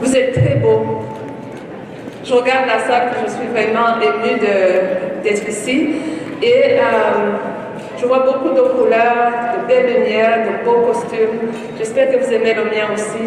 Vous êtes très beaux. Je regarde la salle, je suis vraiment émue d'être ici. Et je vois beaucoup de couleurs, de belles lumières, de beaux costumes. J'espère que vous aimez le mien aussi.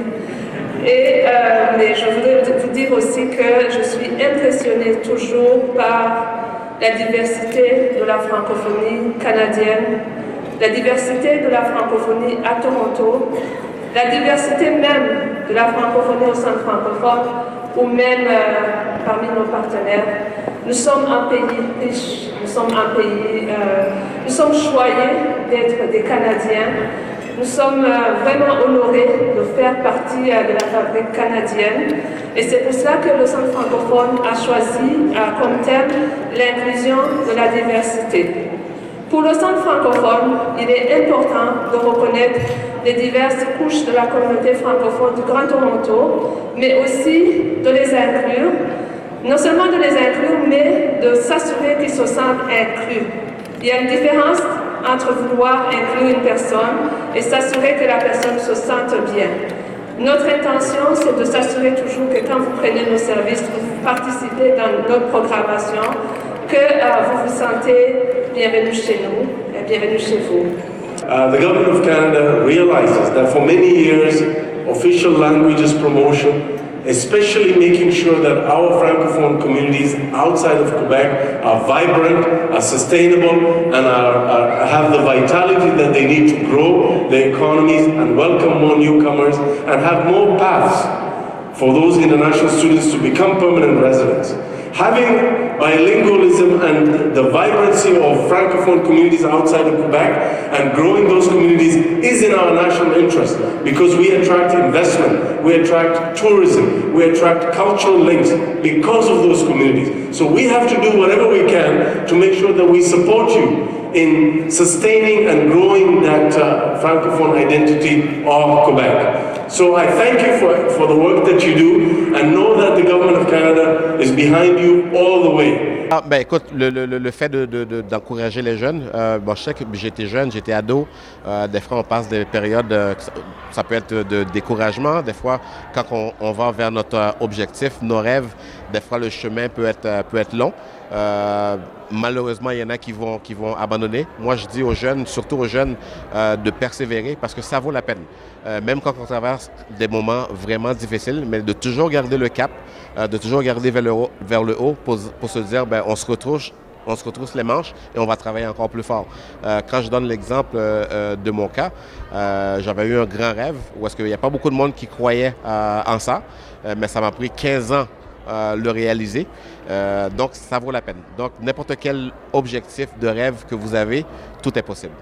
Et mais je voudrais vous dire aussi que je suis impressionnée toujours par la diversité de la francophonie canadienne, la diversité de la francophonie à Toronto, la diversité même de la francophonie au centre francophone ou même parmi nos partenaires. Nous sommes un pays riche, nous sommes un pays, nous sommes choyés d'être des Canadiens. Nous sommes vraiment honorés de faire partie de la fabrique canadienne et c'est pour cela que le Centre francophone a choisi comme thème l'inclusion de la diversité. Pour le Centre francophone, il est important de reconnaître les diverses couches de la communauté francophone du Grand Toronto, mais aussi de les inclure, non seulement de les inclure, mais de s'assurer qu'ils se sentent inclus. Il y a une différence entre vouloir inclure une personne et s'assurer que la personne se sente bien. Notre intention, c'est de s'assurer toujours que quand vous prenez nos services, vous participez dans notre programmation, que vous vous sentez bienvenue chez nous et bienvenue chez vous. The Government of Canada realizes that for many years, official languages promotion, especially making sure that our Francophone communities outside of Quebec are vibrant, are sustainable, and have the vitality that they need to grow their economies and welcome more newcomers and have more paths for those international students to become permanent residents. Having bilingualism and the vibrancy of Francophone communities outside of Quebec and growing those communities is in our national interest because we attract investment, we attract tourism, we attract cultural links because of those communities. So we have to do whatever we can to make sure that we support you in sustaining and growing that Francophone identity of Quebec. So I thank you for the work that you do and know that the Government of Canada is behind you all the way. Écoute, le fait d'encourager les jeunes, bon, je sais que j'étais jeune, j'étais ado, des fois on passe des périodes, ça peut être de découragement, des fois quand on va vers notre objectif, nos rêves, des fois le chemin peut être long. Malheureusement, il y en a qui vont abandonner. Moi, je dis aux jeunes, surtout aux jeunes, de persévérer parce que ça vaut la peine. Même quand on traverse des moments vraiment difficiles, mais de toujours garder le cap, de toujours garder vers le haut pour se dire, on se retrousse les manches et on va travailler encore plus fort. Quand je donne l'exemple de mon cas, j'avais eu un grand rêve où est-ce qu'il n'y a pas beaucoup de monde qui croyait en ça, mais ça m'a pris 15 ans le réaliser. Donc, ça vaut la peine. Donc, n'importe quel objectif de rêve que vous avez, tout est possible.